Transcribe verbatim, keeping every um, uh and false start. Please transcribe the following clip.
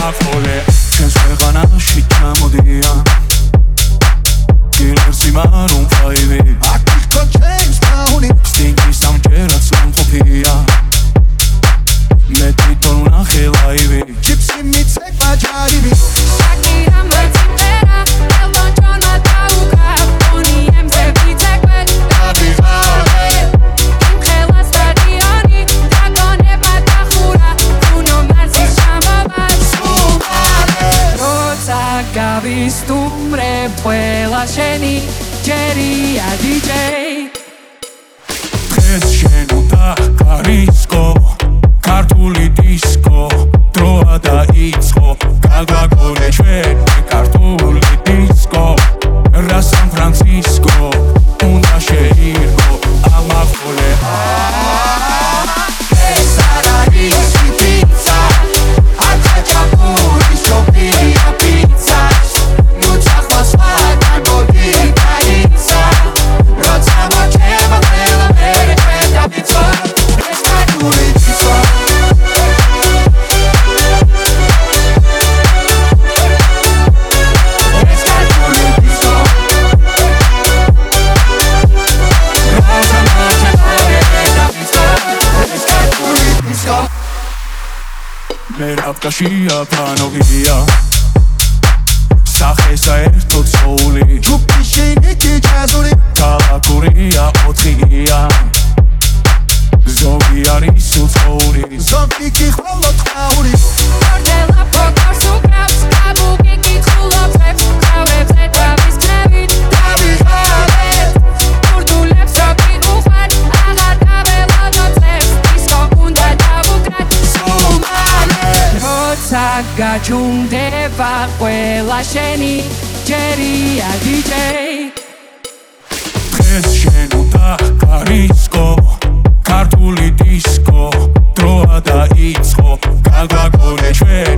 ამახოლე ჩვენს ქვეყანაში ჩამოდიან კილერსი მარუნ ფაივი აკიხო ჩეიმს ბაუნი სტინგის ამჯერად სამყოფია მე თვითონ ვნახე ლაივი ჯიპსი მიცეკვა ჯარივი შაკირა მეციმერა ელტონ ჯონმა დაუკრა ბონი ემზე მიცეკვე დაბიღალე იმ ხელას სტადიონი დრაკონებმა დახურა ბრუნო მარსის ჩამოვა სუმარე როცა გავისტუმრებ ყველა შენი ჯერია დიჯეი დღეს შენ უნდა გარისკო ქართული დისკო დროა დაიწყო გაგვაგონე ჩვენ ქართული დისკო რა სან ფრანცისკო უნდა შეირგო ამახოლე ეს არ არის პიცა აჩა ჩაპური შოპია პიცა ნუ ჩახმას ვაგან გოდი დაიცა როცა მოჩება ყველა მერე ყვეთა პიცა ეს ქართული დისკო მერაბკაშია ფანოგია სახე საერთოდ სოული ჯუპი შენეთი ჯაზური ქალაქურია ოთხია ზოგი არის უცხოური ზოგი კი ხოლოდ ხაური ორდელა ფოტოს უკრავს კაბუკი კითხულობებს ხავებზე თავის ხრევით დავიღალეთ კურდულებს როკი უხარ აღარ გაველოდოთ დისკო უნდა დავუკრათ სუმარე როცა გაჯუნდება ყველა შენი ჯერია დიჯეი დღეს შენ უნდა გარისკო ქართული დისკო დროა დაიწყო გაგვაგონე ჩვენ